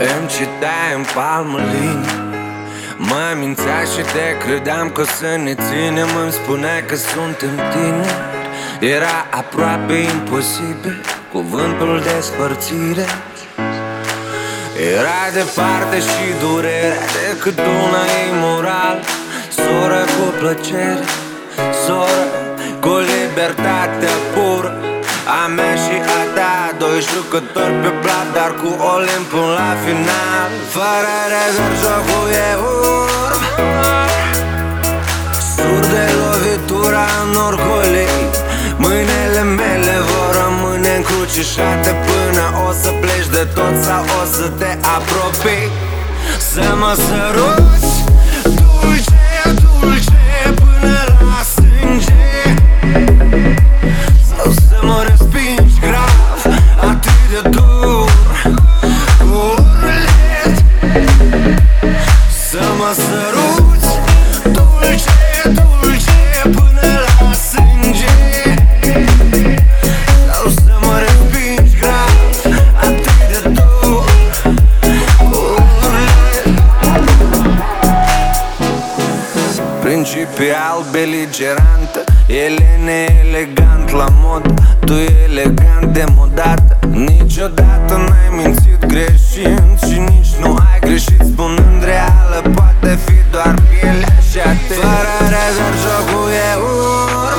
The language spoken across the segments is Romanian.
Îmi citai în palmă linii, mă mințea și te credeam că o să ne ținem. Îmi spuneai că suntem tineri, era aproape imposibil cuvântul despărțire. Era departe și durerea decât una imoral. Soră cu plăcere, soră cu libertatea pură, a mea și a ta, doi jucători pe plat, dar cu Olimp până la final. Fără rezerv jocul e urm, sur de lovitura în orgolii. Mâinile mele vor rămâne încrucișate până o să pleci de tot sau o să te apropii. Să mă săruți dulce, dulce până la sânge, sau să mă respingi grav, atât de dur, cu urlet. Să mă săruți dulce, dulce până la sânge, sau să mă respingi grav, atât de dur, cu urlet. Principial beligerantă, ele neelegant la mod, tu elegant demodată. Niciodată n-ai mințit greșind și nici nu ai greșit spunând reală. Poate fi doar pielea și atât. Fără rezerv jocul e urm,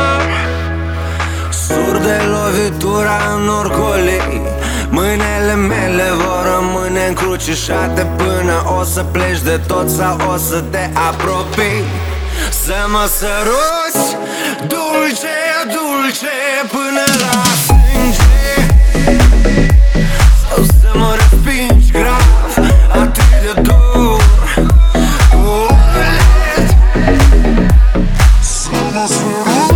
sur de lovitura în orgolii. Mâinile mele vor rămâne încrucișate până o să pleci de tot sau o să te apropii. Să mă săruți dulce, dulce până la sânge, sau să mă respingi grav, atât de dur, cu urlet. Să mă săruți.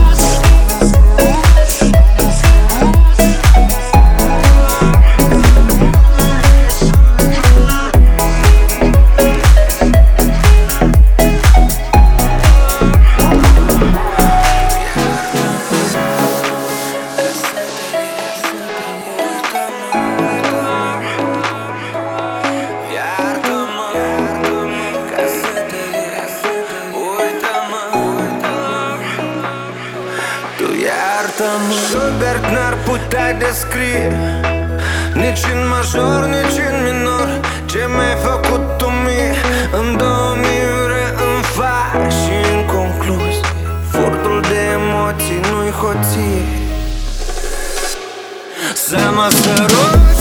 Schubert n-ar putea descrie, nici în major, nici în minor, ce mi-ai făcut tu mie. În 2000 îmi faci și în concluzie, furtul de emoții nu-i hoție. Să mă sărut